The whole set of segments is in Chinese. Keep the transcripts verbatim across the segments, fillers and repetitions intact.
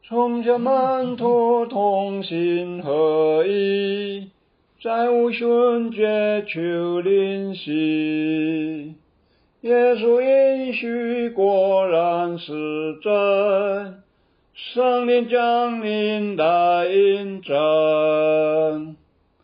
從小門徒同心合意，在五旬節求靈犀。耶穌應許果然是真，聖靈降臨來印證。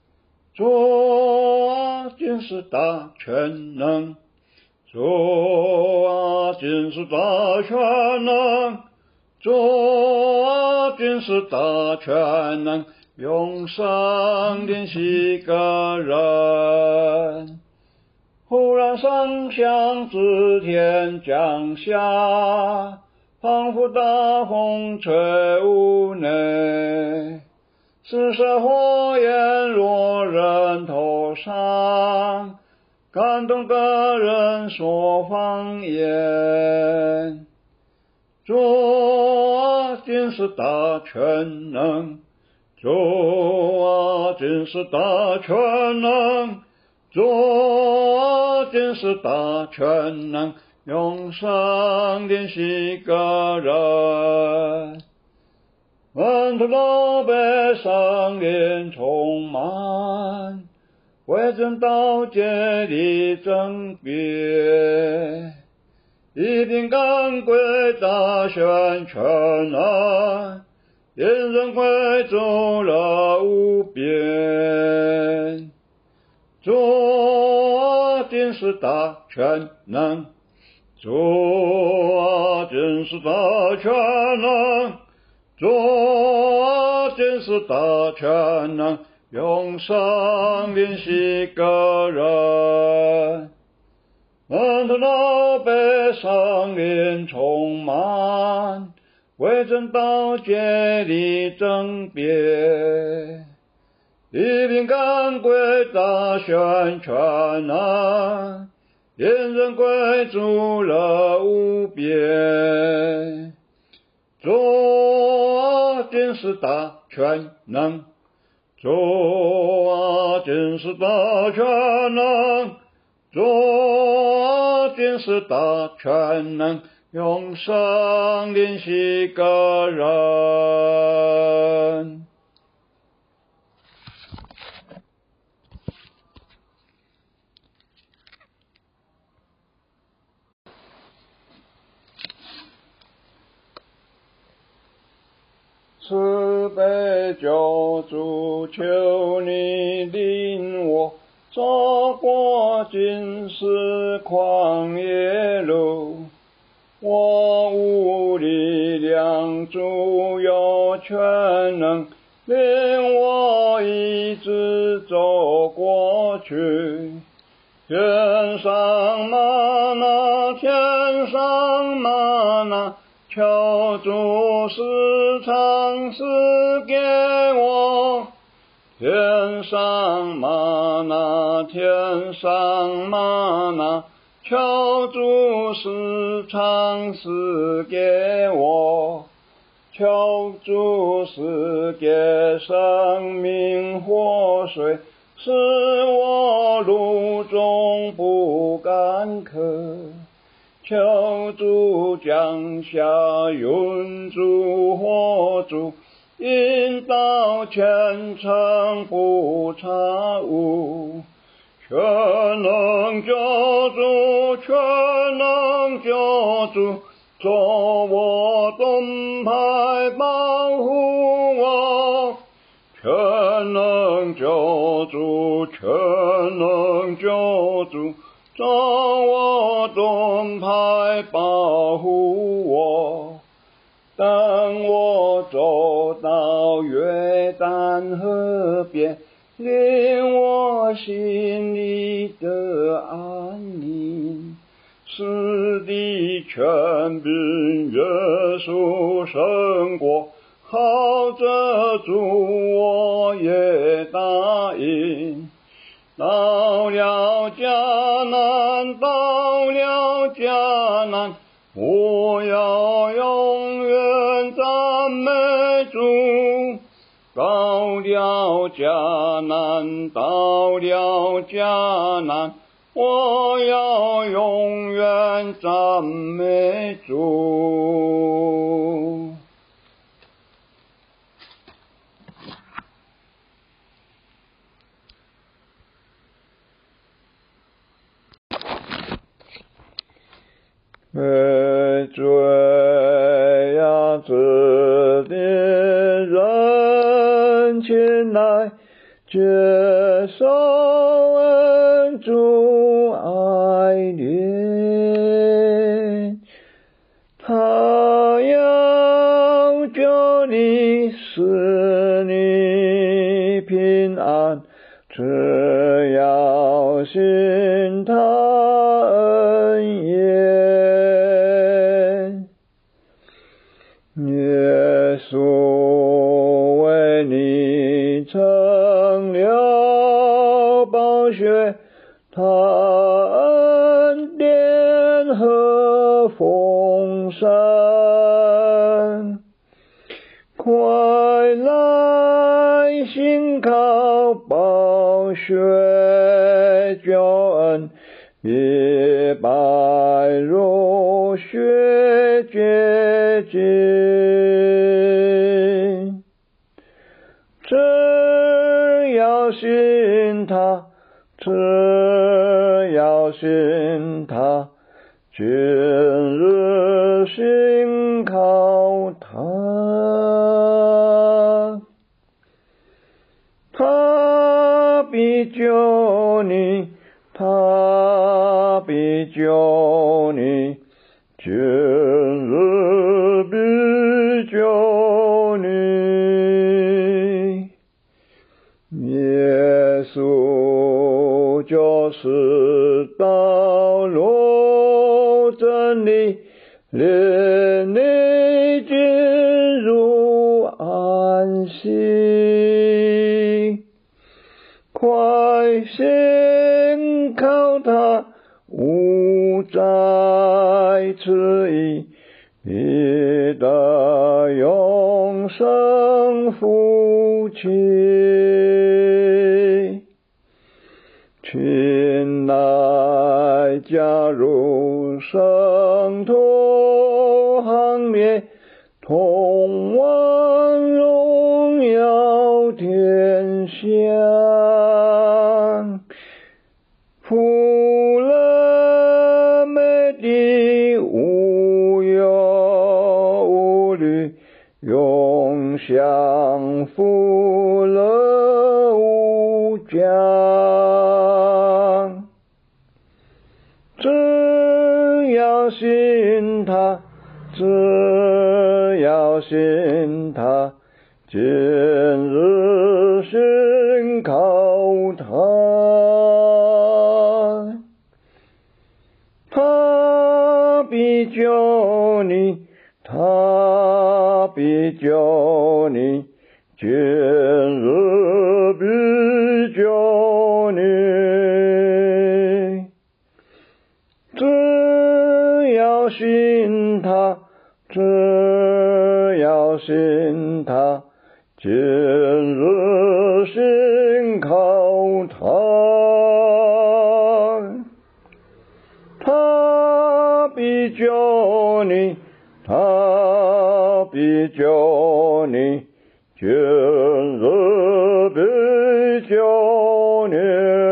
主啊，今世大全能，主啊，今世大全能，主啊，今世大全能，永生靈犀個人。忽然聲響自天降下，仿佛大風吹屋內，四射火焰落人頭上，感動的人說方言。主啊，今世大全能，主啊，今世大全能，主啊，今世大全能，永生靈犀個人。門徒都被聖靈充滿，為真道竭力爭辯，一並趕歸大選全能，因人歸主樂無邊。主啊，今世大全能，主啊，今世大全能，主啊，今世大全能，永生靈犀個人。門徒都被聖靈充滿，為真道竭力爭辯，一並趕歸大選全能，因人歸主樂無邊。主啊，今世大全能，主啊，今世大全能，主啊，今世大全能，永生靈犀個人。慈悲救主，求你領我走過今世曠野路，我無力量，主有全能，領我一直走過去。天上嗎哪，天上嗎哪，求主時常賜給我。天上嗎哪，天上嗎哪，求主時常賜給我。求主賜給生命活水，使我路中不乾渴。求主降下雲柱火柱，引導前程不差誤。全能救主，全能救主，做我盾牌保護我。全能救主，全能救主，做我盾牌保護我。當我走到約旦河邊，領我心裡的安寧。死的權柄，耶穌勝過，靠着主我也答應。到了迦南，到了迦南，我要永遠讚美主。到了迦南，到了迦南，我要永遠讚美主。 罪呀，指定人前來接受恩主愛憐，他要救你，使你平安，只要信他恩言。耶穌為你成了寶血，他恩典何豐盛，快來信靠寶血救恩，比白如雪潔淨。只要信他，只要信他，今日信靠他，他必救你，他必救你，今日必救你。耶穌就是道路真理，領你進入安息。快信靠他，勿再遲疑，必得永生福氣。請來加入聖徒行列，同往榮耀天鄉。富人美地無憂無慮，永享福樂無疆。只要信他，只要信他，今日信靠他，他必救你，他必救你，今日必救你。只要信他，只要信他，今日信靠他，他必救你，他必救你，今日必救你。